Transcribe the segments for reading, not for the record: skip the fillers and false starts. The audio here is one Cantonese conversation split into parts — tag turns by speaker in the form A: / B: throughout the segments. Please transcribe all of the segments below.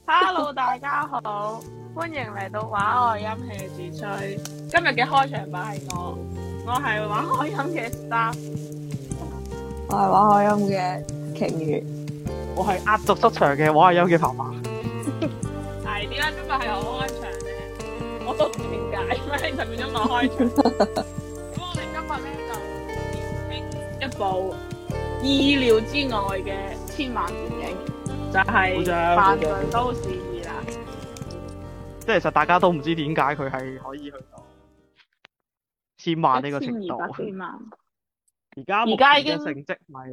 A: Hello，大家好，歡迎嚟到畫外音 hea 自吹。今日嘅開場白係我係畫外音嘅 staff，
B: 我係玩開音嘅鯨魚，
C: 我係壓軸出場嘅畫外音嘅爸爸。
A: 係點解今日係我開場咧？我都唔知點解，因為就變咗我開場。咁我哋今日咧就傾一部意料之外嘅千萬電影，就係《犯罪都市二》啦。
C: 即係其實大家都唔知點解佢係可以去到千萬呢個程度。
A: 1200幾萬。
C: 而家目前嘅成績咪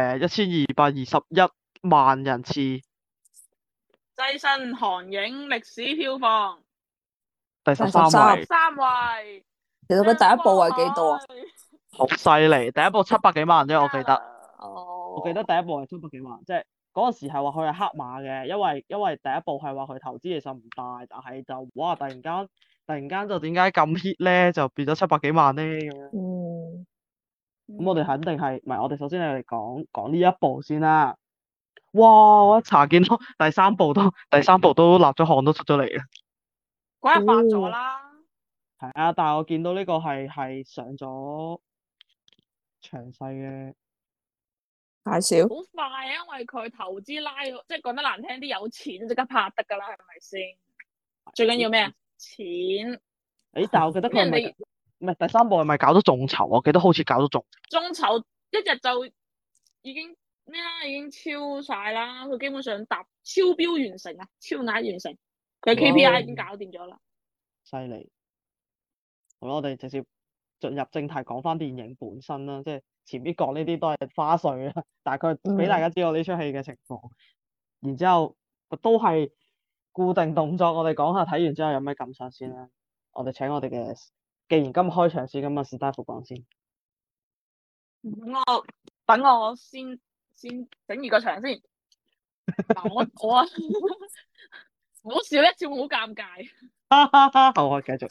C: 1221萬人次，
A: 躋身韓影歷史票房
C: 第13位，
A: 13位。
B: 其實佢第一部係幾多啊？
C: 好犀利！第一部700幾萬啫，我記得。
B: 哦，
C: 我記得第一部係700幾萬，即係嗰陣時係話佢係黑馬嘅，因為第一部係話佢投資其實唔大，但係就哇突然間就點解咁 hit 咧，就變咗700幾萬咧咁樣。咁我哋肯定係，唔係我哋首先嚟講呢一部先啦。哇！我一查見到第三部都立咗項都出咗嚟嘅。
A: 嗰日發咗啦。
C: 係啊，但係我見到呢個係上咗詳細嘅
B: 介紹。
A: 好快啊，因為佢投資拉，即係講得難聽啲，有錢即刻拍得㗎啦，係咪先？最緊要咩啊？錢。
C: 誒，但係我記得佢
A: 人哋
C: 唔係第三部係咪搞咗眾籌？我記得好似搞咗眾
A: 籌一日就已經咩啦，已經超晒啦。佢基本上達超標完成啊，超額完成。佢 KPI 已經搞掂咗啦。
C: 犀利。好啦，我哋直接進入正題，講翻電影本身啦。即係前邊講呢啲都係花絮啦，大概俾大家知道呢出戲嘅情況。然之後都係固定動作，我哋講下睇完之後有咩感想先啦。我哋請我哋嘅，既然今日開場先，咁啊史大夫講先。
A: 等我先整完個場先。嗱，我唔好笑，一笑好尷尬。
C: 好，我繼續。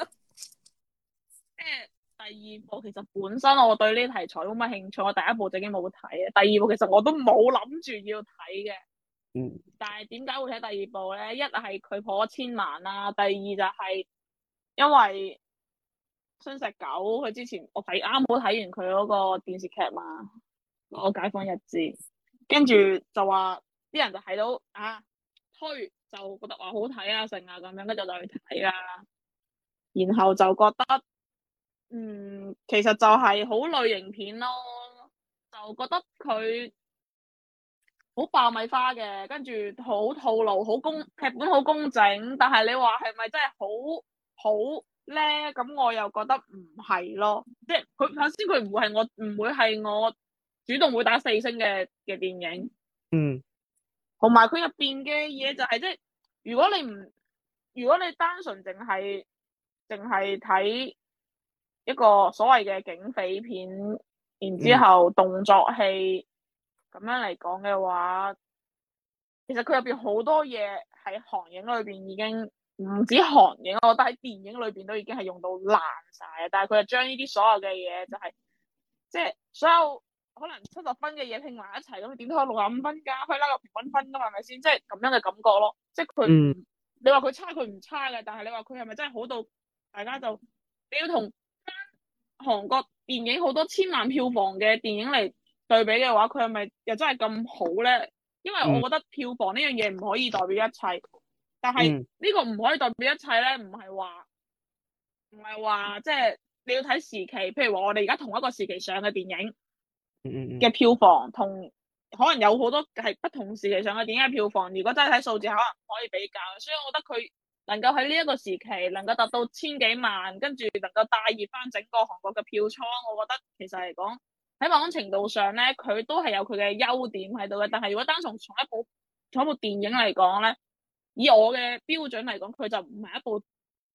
A: 即係第二部，其實本身我對呢題材冇乜興趣，我第一部就已經冇睇嘅。第二部其實我都冇諗住要睇嘅。但係點解會睇第二部咧？一係佢破咗千萬啦，第二就係因為新石狗佢之前我啱好睇完佢嗰個電視劇嘛，嗰個解放日誌，跟住就話啲人就睇到推就覺得話好睇啊成啊咁樣，跟住就去睇啦，然後就覺得其實就係好類型片咯，就覺得佢好爆米花嘅，跟住好套路，劇本好工整，但係你話係咪真係好咧？咁我又覺得唔係咯，即係佢首先佢唔會係我主動會打4星嘅電影，同埋佢入邊嘅嘢就係即係如果你單純淨係睇一個所謂嘅警匪片，然之後動作戲咁樣嚟講嘅話，其實佢入邊好多嘢喺韓影裏邊已經唔止韓影，我覺得喺電影裏邊都已經係用到爛晒，但係佢就將呢啲所有嘅嘢就係即係所有可能70分嘅嘢拼埋一齊，咁點都可以65分㗎，可以拉個平均分㗎嘛，係咪先？即係咁樣嘅感覺咯。即係佢你話佢差佢唔差嘅，但係你話佢係咪真係好到大家就你要同韓國電影好多千萬票房嘅電影嚟對比嘅話，佢係咪又真係咁好咧？因為我覺得票房呢樣嘢唔可以代表一切，但係呢個唔可以代表一切咧，唔係話即係你要睇時期，譬如話我哋而家同一個時期上嘅電影嘅票房，同可能有好多係不同時期上嘅電影嘅票房，如果真係睇數字，可能唔可以比較。所以我覺得佢能夠喺呢一個時期能夠達到千幾萬，跟住能夠帶熱翻整個韓國嘅票倉，我覺得其實嚟講喺某種程度上咧，佢都係有佢嘅優點喺度嘅。但係如果單從一部電影嚟講咧，以我嘅標準嚟講，佢就唔係一部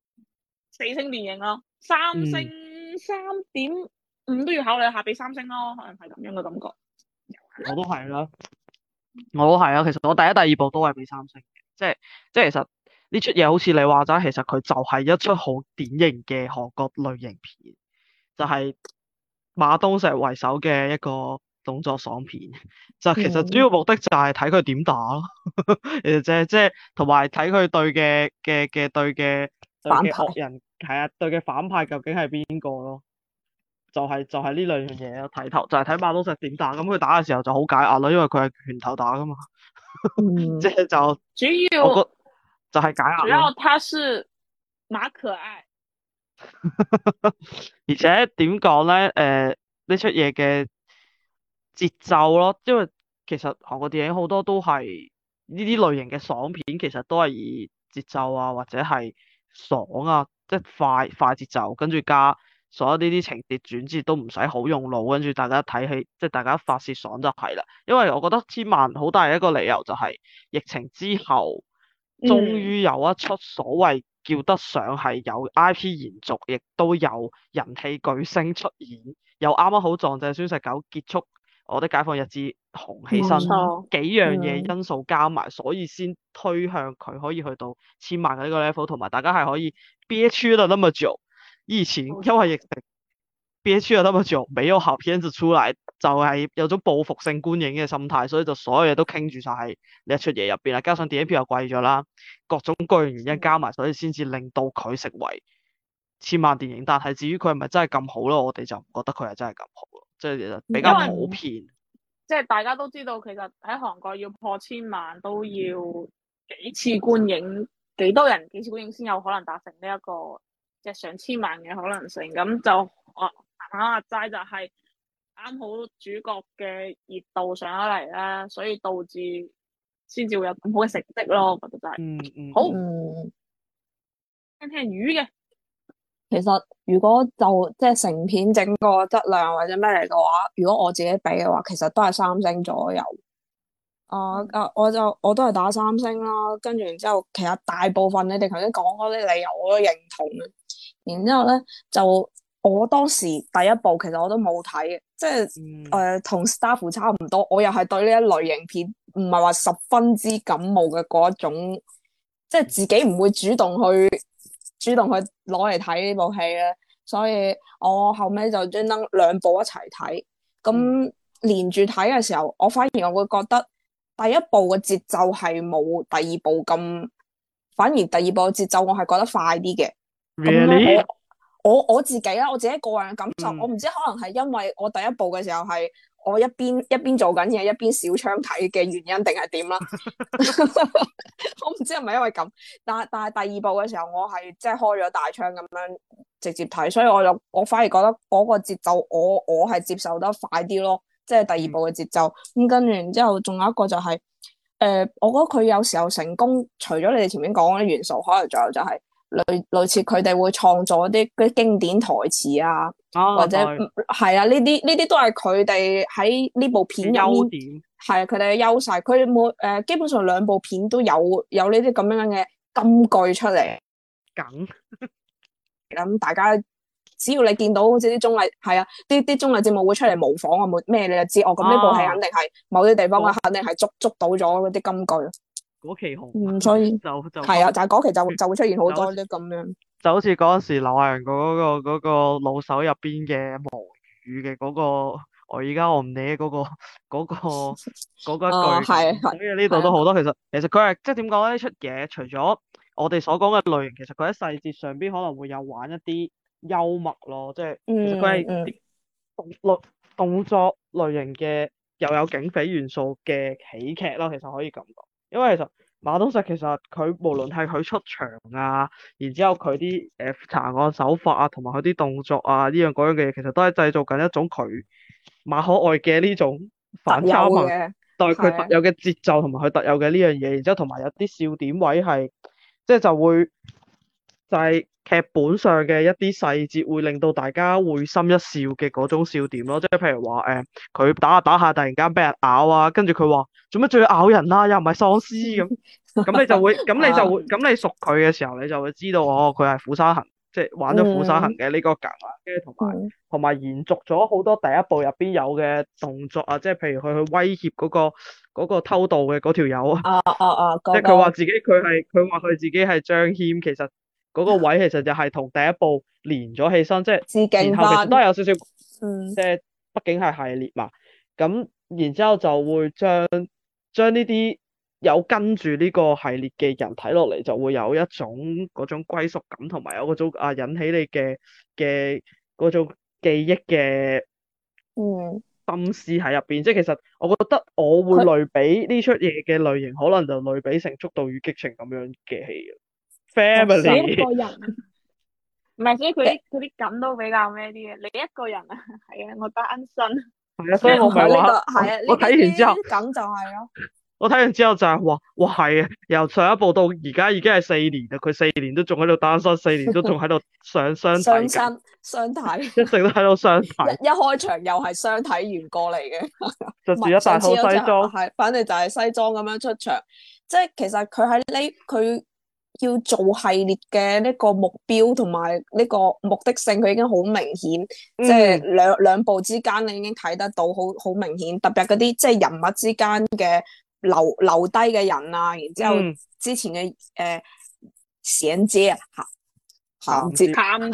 A: 4星電影咯，3星3.5都要考慮下俾3星咯，可能係咁樣嘅感覺。
C: 我都係啦，其實我第一、第二部都係俾3星嘅，即係其實呢出嘢好似你話齋，其實佢就係一出好典型嘅韓國類型片，就係馬東石為首嘅一個動作爽片，就其實主要目的就係睇佢點打咯，即係同埋睇佢對嘅
B: 反派
C: 惡人係啊，對嘅反派究竟係邊個咯？就係呢兩樣嘢咯，睇頭就係睇馬東石點打，咁佢打嘅時候就好解壓咯，因為佢係拳頭打噶嘛，即係就
A: 主要
C: 我覺就係解壓咯。
A: 主要他是馬可愛，
C: 而且點講咧？呢出嘢嘅節奏咯，因為其實韓國電影好多都係呢啲類型嘅爽片，其實都係以節奏啊或者係爽啊，即係快節奏，跟住加所有呢啲情節轉折都唔使好用腦，跟住大家睇戲即係大家發泄爽就係啦。因為我覺得千萬好大一個理由就係疫情之後，終於有一出所謂叫得上係有 IP 延續，亦都有人氣巨星出演，又啱啱好撞正孫石狗結束我的解放日誌紅起身，幾樣嘢因素加埋，所以先推向佢可以去到千萬嘅呢個 level，同埋大家係可以憋屈了那麼久，以前因為疫情憋屈了那麼久，沒有好片子出來，就係有種報復性觀影嘅心態，所以就所有嘢都傾住晒喺呢一出嘢入邊啦，加上電影票又貴咗啦，各種各樣原因加埋，所以先至令到佢成為千萬電影。但係至於佢係咪真係咁好咯，我哋就唔覺得佢係真係咁好咯，即係比較普遍。
A: 即係大家都知道，其實喺韓國要破千萬都要幾次觀影，幾多人幾次觀影先有可能達成呢一個即係上千萬嘅可能性。咁就話齋就係啱好主角嘅熱度上咗嚟啦，所以導致先至會有咁好嘅成績咯。我覺得真係好。聽聽魚嘅。
B: 其實如果就即係成片整個質量或者咩嚟嘅話，如果我自己比嘅話，其實都係3星左右。我都係打3星啦，跟住然之後，其實大部分你哋頭先講嗰啲理由我都認同嘅。然之後咧，就我當時第一部其實我都冇睇嘅，即係同 staff 差唔多，我又係對呢一類型片唔係話十分之感冒嘅嗰一種，即係自己唔會主動去攞嚟睇呢部戲咧，所以我後尾就專登兩部一齊睇。咁連住睇嘅時候，我反而我會覺得第一部嘅節奏係冇第二部咁，反而第二部嘅節奏我係覺得快啲嘅。
C: Really？
B: 我自己啦，我自己個人嘅感受，我唔知可能係因為我第一部嘅時候係我一邊做緊嘢一邊小窗睇嘅原因，定係點啦？我唔知係咪因為咁，但係第二部嘅時候，我係即係開咗大窗咁樣直接睇，所以我反而覺得嗰個節奏我係接受得快啲咯，即係第二部嘅節奏。咁跟住然之後，仲有一個就係我覺得佢有時候成功，除咗你哋前面講嗰啲元素，可能仲有就係類似佢哋會創造啲嗰啲經典台詞啊，或者係啊，呢啲都係佢哋喺呢部片入面係佢哋嘅優勢。佢哋基本上兩部片都有呢啲咁樣嘅金句出嚟。咁大家只要你見到好似啲綜藝係啊，啲綜藝節目會出嚟模仿啊，咩你就知哦。咁呢部戲肯定係某啲地方肯定係捉到咗嗰啲金句。
C: 嗰期紅，
B: 所以
C: 就
B: 係啊，就係嗰期就會出現好多啲咁樣，
C: 就好似嗰陣時劉亞仁嗰個老手入邊嘅毛語嘅嗰個，我而家我唔理嗰一句，所以呢度都好多。其實佢係即係點講咧？呢出嘢除咗我哋所講嘅類型，其實佢喺細節上邊可能會有玩一啲幽默咯，即係其實佢係動作類型嘅，又有警匪元素嘅喜劇咯。其實可以咁講。因為其實馬東石其實佢無論係佢出場啊，然之後佢啲查案手法啊，同埋佢啲動作啊，呢樣嗰樣嘅嘢，其實都係製造緊一種佢馬可愛嘅呢種反差萌，對佢特有嘅節奏同埋佢特有嘅呢樣嘢，然之後同埋有啲笑點位係，即係就會就係劇本上嘅一啲細節會令到大家會心一笑嘅嗰種笑點咯，即係譬如話佢打下打下突然間俾人咬啊，跟住佢話做乜仲要咬人啊，又唔係喪屍咁你就會咁你熟佢嘅時候，你就會知道佢係釜山行，即係玩咗釜山行嘅呢個梗啊，跟住同埋延續咗好多第一部入邊有嘅動作啊，即係譬如佢去威脅嗰個偷渡嘅嗰條友啊，即係佢話佢自己係張謙，其實嗰個位其實就係同第一部連咗起身，即係然後其實都係有少少，即係畢竟係系列嘛。 咁然之後就會將呢啲有跟住呢個系列嘅人睇落嚟，就會有一種嗰種歸屬感，同埋有嗰種引起你嘅嗰種記憶嘅心思喺入邊。即係其實我覺得我會類比呢出嘢嘅類型，可能就類比成《速度與激情》咁樣嘅戲。
B: 你一個
C: Family
B: 人
A: 唔係，所以佢啲梗都比較咩啲嘅。你一個人啊，係啊，我單身。
C: 係啊，所以我咪話
B: 呢個係啊，
C: 我睇完之後，
B: 梗就係咯。
C: 我睇完之後就係話，哇係啊，由上一部到而家已經係4年啦，佢4年都仲喺度單身，4年都仲喺度相睇緊，
B: 相睇，
C: 一直都喺度相睇。
B: 一開場又係相睇完過嚟嘅，
C: 着住一大套西裝，
B: 係，反正就係西裝咁樣出場。即係其實佢喺佢要做系列嘅呢個目標同埋呢個目的性，佢已經好明顯。即係兩部之間，你已經睇得到好明顯。特別嗰啲即係人物之間嘅留低嘅人啊，然之後之前嘅銜接啊，銜接，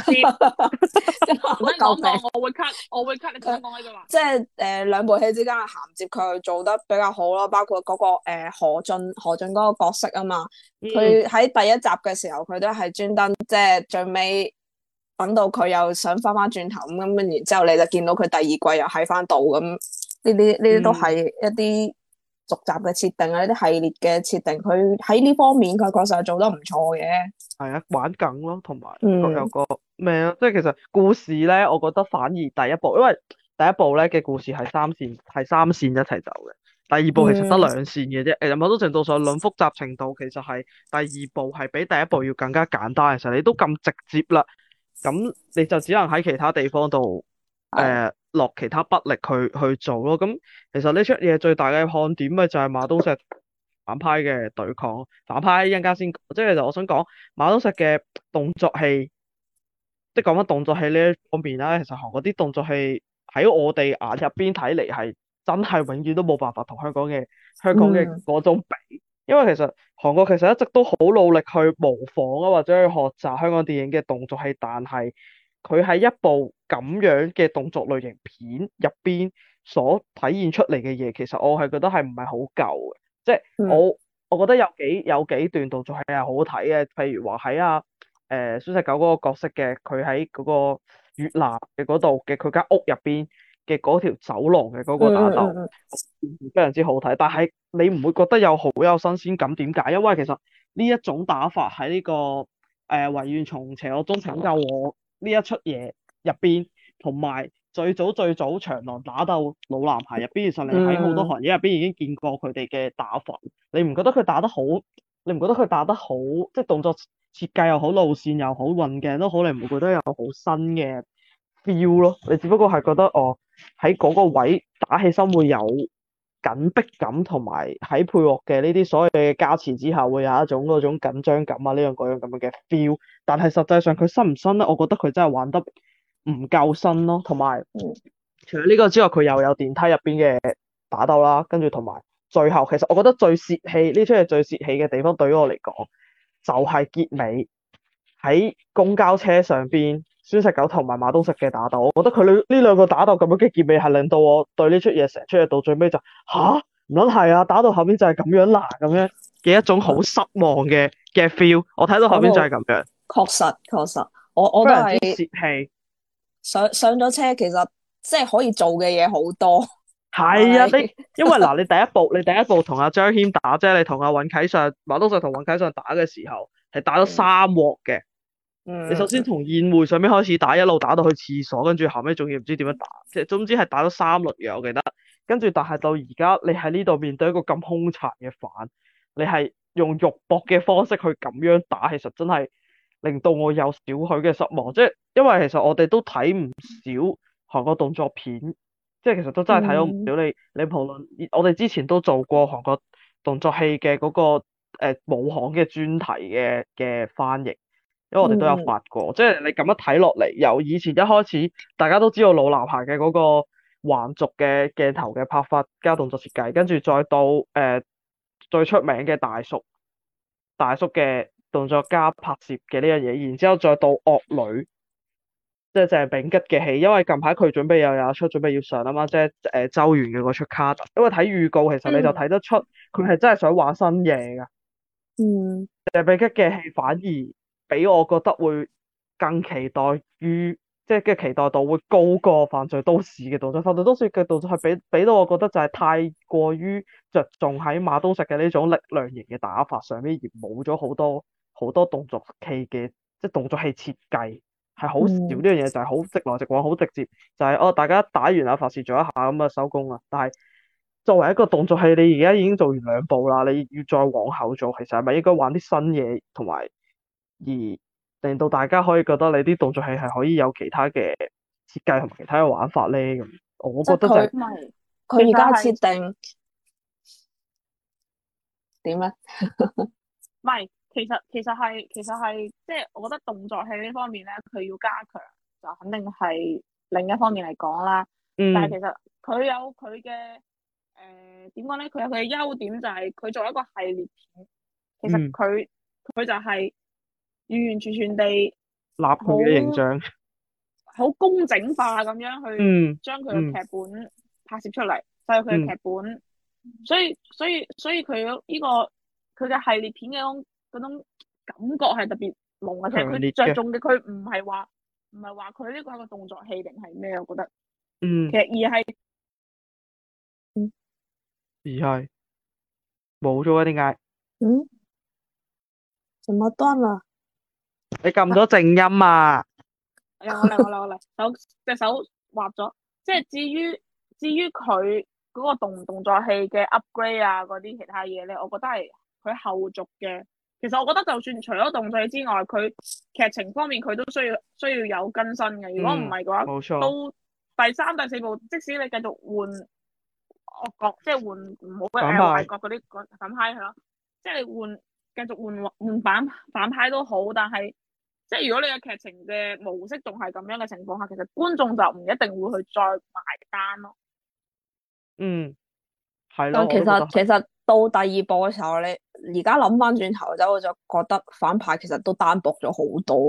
A: 我會 cut 你講呢句話。
B: 即係兩部戲之間嘅銜接，佢做得比較好咯。包括嗰個何俊嗰個角色啊嘛，佢喺第一集嘅時候，佢都係專登即係最尾等到佢又想翻轉頭咁，然之後你就見到佢第二季又喺翻度咁。呢啲都係一啲續集嘅設定啊，呢啲系列嘅設定，佢喺呢方面佢確實係做得唔錯嘅。係
C: 啊，玩梗咯，同埋各有個咩咯，即係其實故事咧，我覺得反而第一部，因為第一部咧嘅故事係三線一齊走嘅，第二部其實得兩線嘅啫。其實某種程度上論複雜程度，其實係第二部係比第一部要更加簡單。其實你都咁直接啦，咁你就只能喺其他地方度落其他筆力去做咯。咁其實呢出嘢最大嘅看點咪就係馬東石反派嘅對抗。反派一陣間先，即係其實我想講馬東石嘅動作戲，即係講翻動作戲呢一方面啦。其實韓國啲動作戲喺我哋眼入邊睇嚟係真係永遠都冇辦法同香港嘅嗰種比。因為其實韓國其實一直都好努力去模仿啊，或者去學習香港電影嘅動作戲，但係佢喺一部咁樣嘅動作類型片入邊所體現出嚟嘅嘢，其實我係覺得係唔係好夠嘅。即係我覺得有幾段動作戲係好睇嘅，譬如話喺孫錫久嗰個角色嘅，佢喺嗰個越南嘅嗰度嘅佢間屋入邊嘅嗰條走廊嘅嗰個打鬥，非常之好睇。但係你唔會覺得好有新鮮感？點解？因為其實呢一種打法喺呢個唯願從邪惡中拯救我呢一出嘢入邊，同埋最早長廊打鬥老男孩入邊，其實你喺好多韓影入邊已經見過佢哋嘅打法。你唔覺得佢打得好？你唔覺得佢打得好？即係動作設計又好，路線又好，運鏡都好，你唔會覺得有好新嘅 feel 咯？你只不過係覺得喺嗰個位打起身會有緊迫感，同埋喺配樂嘅呢啲所有嘅加持之下，會有一種嗰種緊張感啊，呢樣嗰樣咁樣嘅 feel。但係實際上佢新唔新咧？我覺得佢真係玩得唔夠新咯。同埋除咗呢個之外，佢又有電梯入邊嘅打鬥啦，跟住同埋最後，其實我覺得最泄氣呢出係最泄氣嘅地方，對於我嚟講就係結尾喺公交車上邊孫錫久同埋馬東石嘅打鬥。我覺得佢呢兩個打鬥咁樣嘅結尾係令到我對呢出嘢成出嘢到最尾就唔撚係啊！打到後面就係咁樣啦，咁樣嘅一種好失望嘅 feel。我睇到後面就係咁樣。
B: 確實，我都係
C: 泄氣。
B: 上咗車，其實即係可以做嘅嘢好多。
C: 係啊，因為嗱，你第一部同阿張謙打啫，你同阿尹啟相、馬東石同尹啟相打嘅時候係打咗3鑊嘅。你首先從宴會上面開始打，一路打到去廁所，跟住後尾仲要唔知點樣打，即係總之係打咗3輪嘅，我記得。跟住但係到而家你喺呢度面對一個咁兇殘嘅犯，你係用肉搏嘅方式去咁樣打，其實真係令到我有少許嘅失望。即係因為其實我哋都睇唔少韓國動作片，即係其實都真係睇到唔少。你無論我哋之前都做過韓國動作戲嘅嗰個武行嘅專題嘅翻譯。因為我哋都有發過，即係你咁樣睇落嚟，由以前一開始大家都知道老男孩嘅嗰個橫軸嘅鏡頭嘅拍法加動作設計，跟住再到最出名嘅大叔嘅動作加拍攝嘅呢樣嘢，然之後再到惡女即係鄭秉吉嘅戲，因為近排佢準備又有一出準備要上啊嘛，即係周元嘅嗰出卡特，因為睇預告其實你就睇得出佢係真係想玩新嘢噶。
B: 嗯，
C: 鄭秉吉嘅戲反而俾我覺得會更期待於，即係嘅期待度會高過犯罪都市嘅動作。犯罪都市嘅動作係俾到我覺得就係太過於着重喺馬東石嘅呢種力量型嘅打法上面，而冇咗好多動作戲嘅，即係動作戲設計係好少呢樣嘢，就係好直來直往，好直接，就係大家打完啊，法事做一下咁啊收工啦。但係作為一個動作戲，你而家已經做完兩部啦，你要再往後做，其實係咪應該玩啲新嘢，同埋而令到大家可以覺得你啲動作戲係可以有其他嘅設計同埋其他嘅玩法咧？咁我覺得就係
B: 佢而家設定點咧？
A: 唔係，其實係，即係我覺得動作戲呢方面咧，佢要加強，就肯定係另一方面嚟講啦。但係其實佢有佢嘅點講咧？佢有佢嘅優點，就係佢作為一個系列片，其實佢就係完完全全地
C: 立佢嘅形象，
A: 好工整化咁樣去將佢嘅劇本拍攝出嚟，就係佢嘅劇本。所以佢呢個佢嘅系列片嘅嗰種感覺係特別濃嘅。其實佢着重嘅佢唔係話佢呢個係個動作戲定係咩？我覺得，其實
C: 而係冇咗啊？點解？
B: 怎麼斷了？
C: 你撳咗靜音啊？
A: 我嚟，隻手畫咗。即係至於佢嗰個動作戲嘅 upgrade 啊，嗰啲其他嘢咧，我覺得係佢後續嘅。其實我覺得就算除咗動作戲之外，佢劇情方面佢都需要有更新嘅。如果唔係嘅話，
C: 冇錯，
A: 到第三、第四部，即使你繼續換惡角，即係換唔好嘅壞角嗰啲反派係咯，即係你繼續換反派都好，但係即係如果你嘅劇情嘅模式仲係咁樣嘅情況下，其實觀眾就唔一定會去再埋單咯。
C: 係咯。
B: 其實到第二部嘅時候，你而家諗翻轉頭就我就覺得反派其實都單薄咗好多。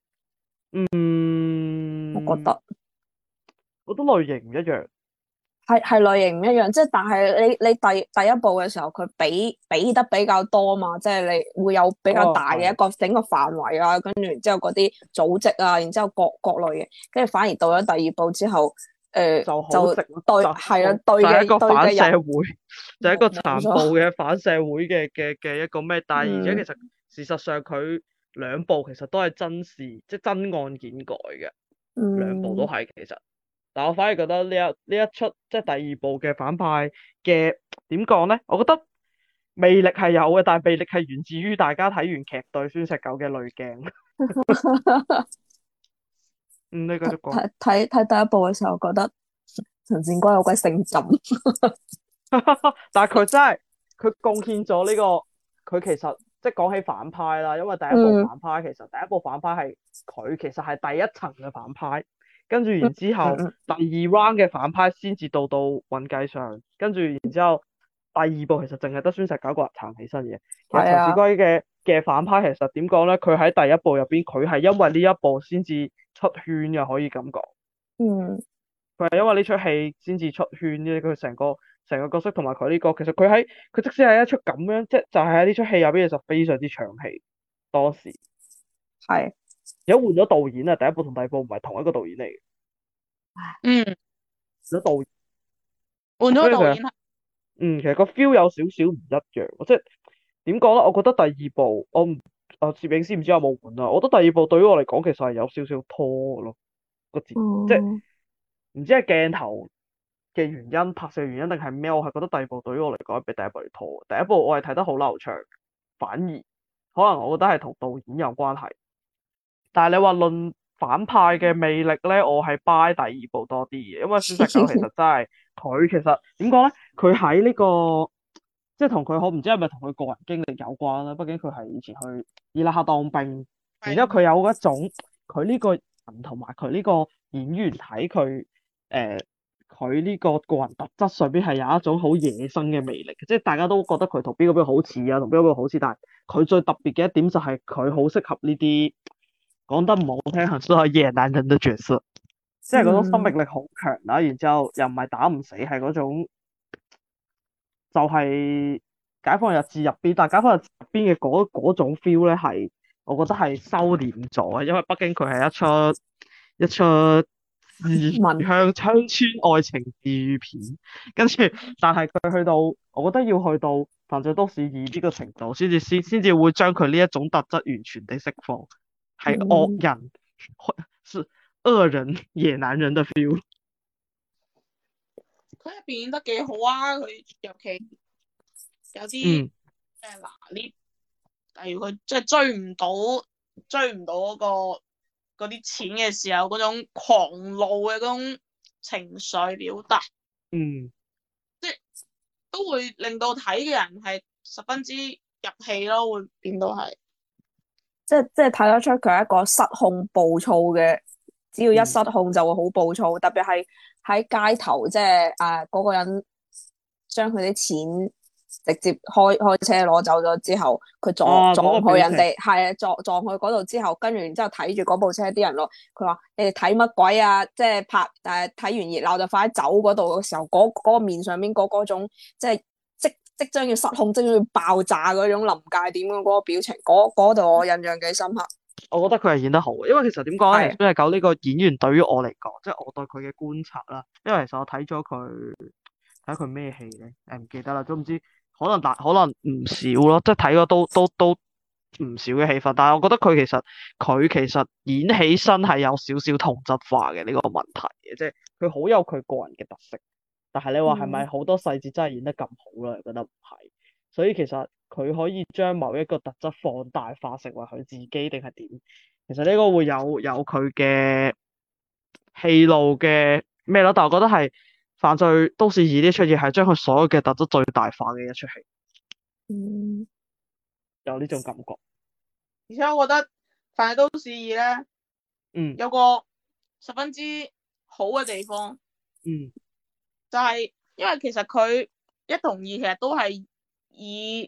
B: 我覺得
C: 好多類型唔一樣。
B: 係類型唔一樣，即係但係你第一部嘅時候佢俾得比較多嘛，即係你會有比較大嘅一個整個範圍啊，跟住然之後嗰啲組織啊，然之後各類嘅，跟住反而到咗第二部之後，就對係啊，對嘅，
C: 一個反社會，就係一個殘暴嘅反社會嘅一個咩？但係而且其實事實上佢兩部其實都係真事，即係真案件改嘅，兩部都係其實。但我反而覺得呢一出即係第二部嘅反派嘅點講咧？我覺得魅力係有嘅，但係魅力係源自於大家睇完劇對孫石狗嘅濾鏡。你繼續講。
B: 睇第一部嘅時候，覺得陳善圭好鬼性感。
C: 但係佢真係佢貢獻咗呢個，佢其實即係講起反派啦，因為第一部反派其實第一部反派係佢其實係第一層嘅反派。跟住然之後，第二 round 嘅反派先至到雲繼上，跟住然之後第二部其實淨係得孫石狗一個人撐起身嘅。其實陳善圭嘅反派其實點講咧？佢喺第一部入邊，佢係因為呢一部先至出圈嘅，可以咁講。佢係因為呢出戲先至出圈嘅，佢成個角色同埋佢呢個，其實佢即使係一出咁樣，即係就係喺呢出戲入邊，其實非常之長戲。當時
B: 係。
C: 而家換咗導演啊，第一部同第二部唔係同一個導演嚟嘅。換咗導演。其實個 feel 有少少唔一樣，即係點講咧？我覺得第二部我唔攝影師唔知有冇換啊。我覺得第二部對於我嚟講其實係有少少拖咯，個節即係唔知係鏡頭嘅原因、拍攝原因定係咩？我係覺得第二部對於我嚟講比第一部要拖。第一部我係睇得好流暢，反而可能我覺得係同導演有關係。但係你話論反派嘅魅力咧，我係 buy 第二部多啲嘅，因為孫石狗其實真係佢其實點講咧？佢喺呢個即係同佢好唔知係咪同佢個人經歷有關啦。畢竟佢係以前去伊拉克當兵，然之後佢有一種佢呢個人同埋佢呢個演員喺佢呢個個人特質上邊係有一種好野生嘅魅力，即係大家都覺得佢同邊個好似啊，同邊個好似，但係佢最特別嘅一點就係佢好適合呢啲講得唔好聽，很適合野男人嘅角色，即係嗰種生命力好強啦，然之後又唔係打唔死，係嗰種就係解放日誌入邊，但係解放日誌入邊嘅嗰種 feel 咧係，我覺得係收斂咗，因為畢竟佢係一出鄉村愛情治愈片，跟住但係佢去到，我覺得要去到犯罪都市二呢個程度，先至會將佢呢一種特質完全地釋放，係惡人，是惡人野男人的 feel。
A: 佢入邊演得幾好啊！佢尤其有啲拿捏，例如佢即係追唔到嗰啲錢嘅時候，嗰種狂怒嘅嗰種情緒表達，即係都會令到睇嘅人係十分之入戲咯，會變到係，
B: 即係睇得出佢係一個失控暴躁嘅，只要一失控就會好暴躁，特別係喺街頭，即係嗰個人將佢啲錢直接開車攞走咗之後，佢撞去人哋，係啊，撞去嗰度之後，跟住然之後睇住嗰部車啲人咯，佢話你哋睇乜鬼啊？即係睇完熱鬧就快啲走嗰度嘅時候，嗰個面上面嗰種即係即將要失控，即將要爆炸嗰種臨界點嘅嗰個表情，嗰度我印象幾深刻。
C: 我覺得佢係演得好，因為其實點講咧，孫藝九呢個演員對於我嚟講，即係我對佢嘅觀察啦。因為其實我睇咗佢咩戲咧？唔記得啦，總之可能唔少咯，即係睇過都唔少嘅戲份。但係我覺得佢其實演起身係有少少同質化嘅呢個問題嘅，即係佢好有佢個人嘅特色。但係你話係咪好多細節真係演得咁好咧？我覺得唔係。所以其實佢可以將某一個特質放大化成為佢自己定係點？其實呢個會有佢嘅戲路嘅咩咯？但係我覺得係犯罪都市二呢出嘢係將佢所有嘅特質最大化嘅一出戲。有呢種感覺。
A: 而且我覺得犯罪都市二咧，有個十分之好嘅地方，就係因為其實佢一同二其實都係以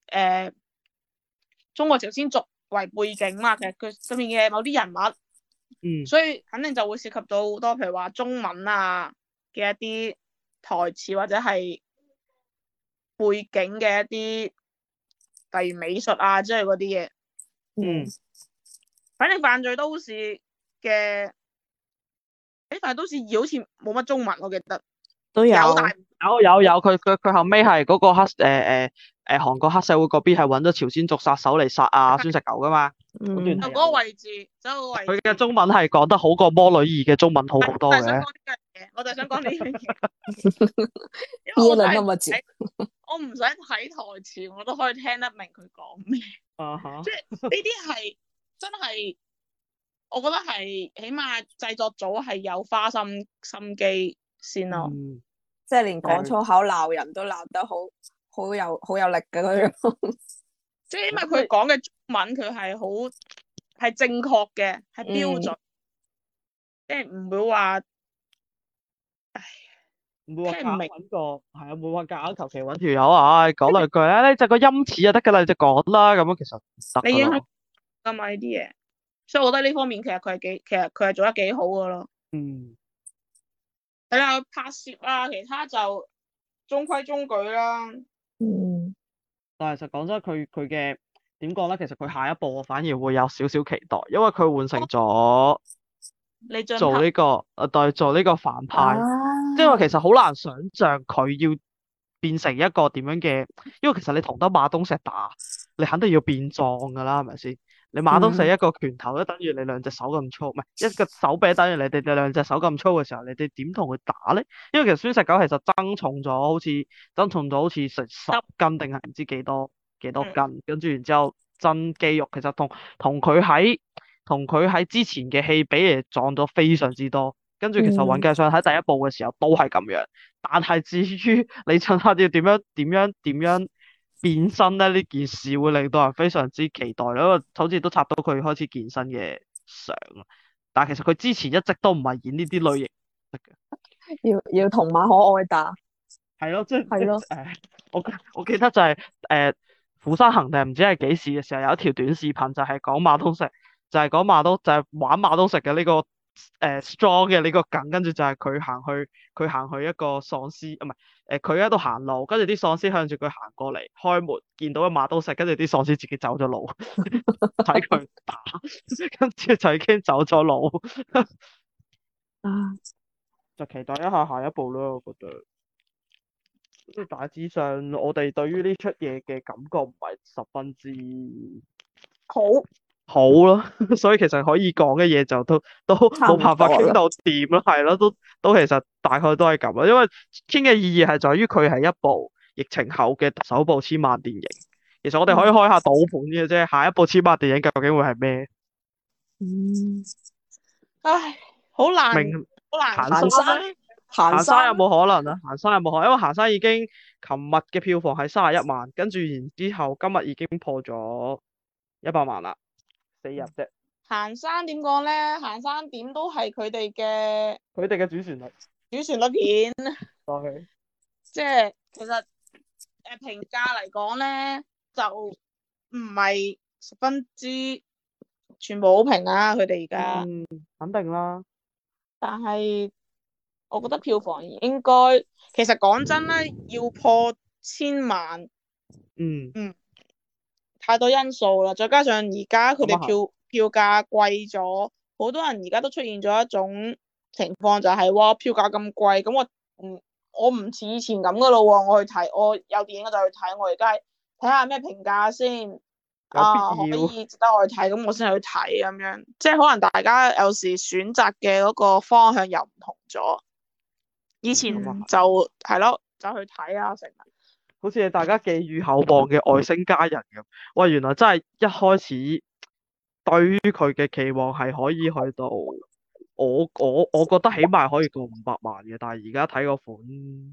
A: 中國朝鮮族為背景嘛，其實佢上面嘅某啲人物，所以肯定就會涉及到好多，譬如話中文嘅一啲台詞或者係背景嘅一啲，例如美術之類嗰啲嘢。反正犯罪都市嘅，犯罪都市二好似冇乜中文，我記得。
B: 都有，
C: 佢後尾係嗰個韓國黑社會嗰邊係揾咗朝鮮族殺手嚟殺孫石狗噶嘛，
A: 嗰個位置，
C: 佢嘅中文係講得好過魔女二嘅中文好好多嘅。
A: 我就想講呢樣嘢，因為我唔使睇台詞，我都可以聽得明佢講咩。即係呢啲係真係，我覺得係起碼製作組係有花心機先咯。
B: 即係連講粗口鬧人都鬧得好有力嘅嗰種。
A: 即係因為佢講嘅中文佢係正確嘅，係標準，即係唔會話，
C: 唔會話夾硬揾個，係啊，唔會話夾硬求其揾條友講兩句咧，你就個音似就得噶啦，你就講啦，咁樣其實唔得。
A: 你影響噶嘛呢啲嘢，所以我覺得呢方面其實佢係做得幾好噶咯。睇下拍攝其他就中規中矩啦。
C: 但係其實講真，佢嘅點講咧？其實佢下一步我反而會有少少期待，因為佢換成咗做呢個做呢個反派，即係話其實好難想像佢要變成一個點樣嘅，因為其實你同得馬東石打，你肯定要變壯噶啦，係咪先？你馬東石一個拳頭都等於你兩隻手咁粗，唔係一個手臂等於你哋兩隻手咁粗嘅時候，你哋點同佢打咧？因為其實孫石狗其實增重咗好似成10斤定係唔知幾多斤，跟住然之後增肌肉，其實同佢喺之前嘅戲比嚟壯咗非常之多。跟住其實尹繼相喺第一部嘅時候都係咁樣，但係至於李俊赫要點樣變身咧？呢件事會令到人非常之期待咯，因為好似都插到佢開始健身嘅相，但係其實佢之前一直都唔係演呢啲類型
B: 要同馬可愛打，
C: 係咯，即係我記得就係《釜山行》定唔知係幾時嘅時候有一條短視頻就係講馬東石就係講馬都就係玩馬都食嘅呢個strong 嘅呢個梗，跟住就係佢行去一個喪屍，唔係佢喺度行路，跟住啲喪屍向住佢行過嚟，開門見到個馬都食，跟住啲喪屍自己走咗路，睇佢打，跟住就已經走咗路。
B: 啊，
C: 就期待一下下一步咯，我覺得。即係大致上，我哋對於呢出嘢嘅感覺唔係十分之
B: 好，
C: 好咯，所以其實可以講嘅嘢就都冇辦法傾到掂咯，係咯，都其實大概都係咁咯，因為傾嘅意義係在於佢係一部疫情後嘅首部千萬電影。其實我哋可以開下賭盤嘅啫，下一部千萬電影究竟會係咩？
A: 唉，好難，
C: 明
A: 好難
C: 行山咩？行山有冇可能啊？行山有冇可能？因為行山已經琴日嘅票房係31萬，跟住然之後今日已經破咗100萬啦，4日啫。
A: 行山點講咧？行山點都係
C: 佢哋嘅主旋律
A: 片。
C: 對，
A: 即係其實評價嚟講咧，就唔係十分之全部好評啊！佢哋而家，
C: 肯定啦。
A: 但係我覺得票房應該，其實講真咧，要破1000萬，太多因素啦，再加上而家佢哋票價貴咗，好多人而家都出現咗一種情況，就係哇票價咁貴，咁我唔似以前咁噶咯喎，我去睇，我有電影我就去睇，我而家睇下咩評價先，可以值得我去睇，咁我先去睇咁樣，即係可能大家有時選擇嘅嗰個方向又唔同咗，以前就係咯，就去睇啊成日。
C: 好似大家寄予厚望嘅外星家人咁，喂，原來真係一開始對於佢嘅期望係可以去到，我覺得起碼可以過500萬嘅，但係而家睇個款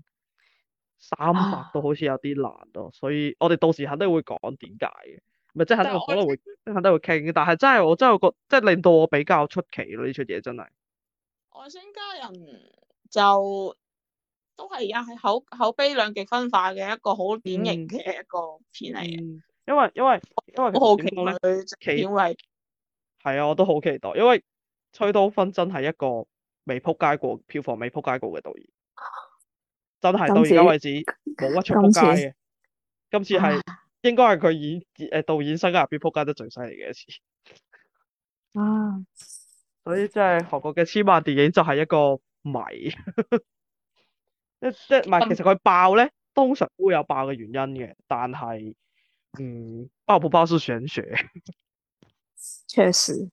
C: 300都好似有啲難咯，所以我哋到時肯定會講點解嘅，咪即係肯定會傾，但係真係我真係覺即係令到我比較出奇咯，呢出嘢真係。
A: 外星家人就都係而家係口碑兩極分化嘅一個好典型嘅一個片嚟嘅。
C: 因為
A: 我好期待佢片為
C: 係啊，我都好期待，因為崔刀勳真係一個未撲街過票房未撲街過嘅導演，真係到而家為止冇一出撲街嘅。今次係應該係佢導演生涯入邊撲街得最犀利嘅一次。所以即係韓國嘅千萬電影就係一個謎。即唔係，其實佢爆咧，通常會有爆嘅原因嘅，但係爆不爆是玄學。
B: 確實，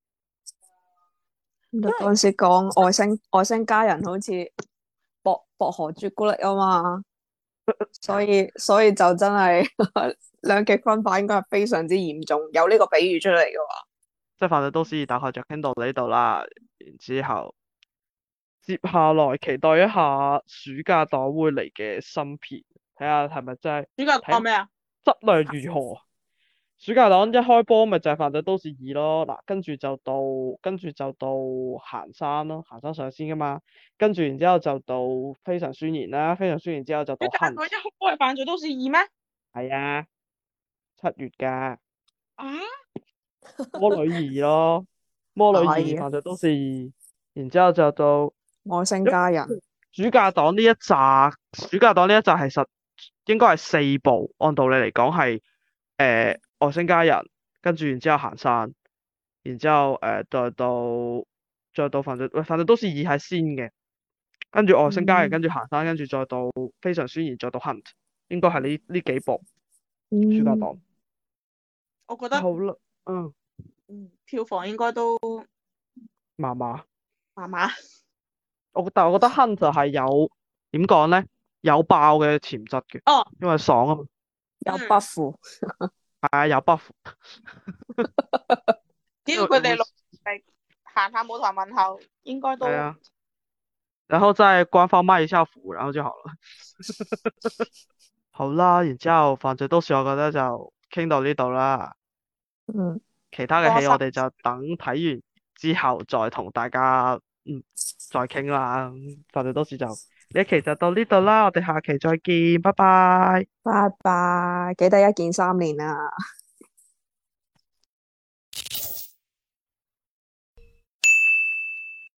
B: 嗰陣時講外星家人好似薄荷朱古力啊嘛，所以就真係兩極分化，應該係非常之嚴重。有呢個比喻出嚟嘅話，
C: 即係反正都是大概就傾到呢度啦。然之後接下來期待一下暑假檔會嚟嘅新片，睇下係咪真係。
A: 暑假檔咩啊？
C: 質量如何？暑假檔一開波咪就係《犯罪都市2》咯，嗱，跟住就到行山咯，行山上先噶嘛，跟住然之後就到非常宣言啦，非常宣言之後就到
A: 一開波係《犯罪都市2》咩？
C: 係啊，7月噶。
A: 啊？
C: 魔女2咯，魔女2犯罪都市2，然之後就到
B: 外星家人。
C: 暑假檔呢一集其實應該係4部，按道理嚟講係外星家人，跟住然之後行山，然之後再到犯罪都市2係先嘅，跟住外星家人，跟住行山，跟住再到非常宣言，再到 Hunt， 應該係呢幾部暑假檔。
A: 我覺得
C: 好啦，
A: 票房應該都
C: 麻麻。 但係我覺得 Hunt 就係有點講咧，有爆嘅潛質嘅，因為爽啊嘛，
B: 有 buff。
C: 係啊，有 buff。
A: 只要佢哋落嚟行下舞台問候，應該都。係啊。
C: 然後再官方賣一下腐，然後就好了。好啦，然之後犯罪都市我覺得就傾到呢度啦。其他嘅戲我哋就等睇完之後再同大家再傾啦。犯罪都市就呢一期就到呢度啦，我哋下期再見，拜拜。
B: 拜拜，記得1鍵3連啊！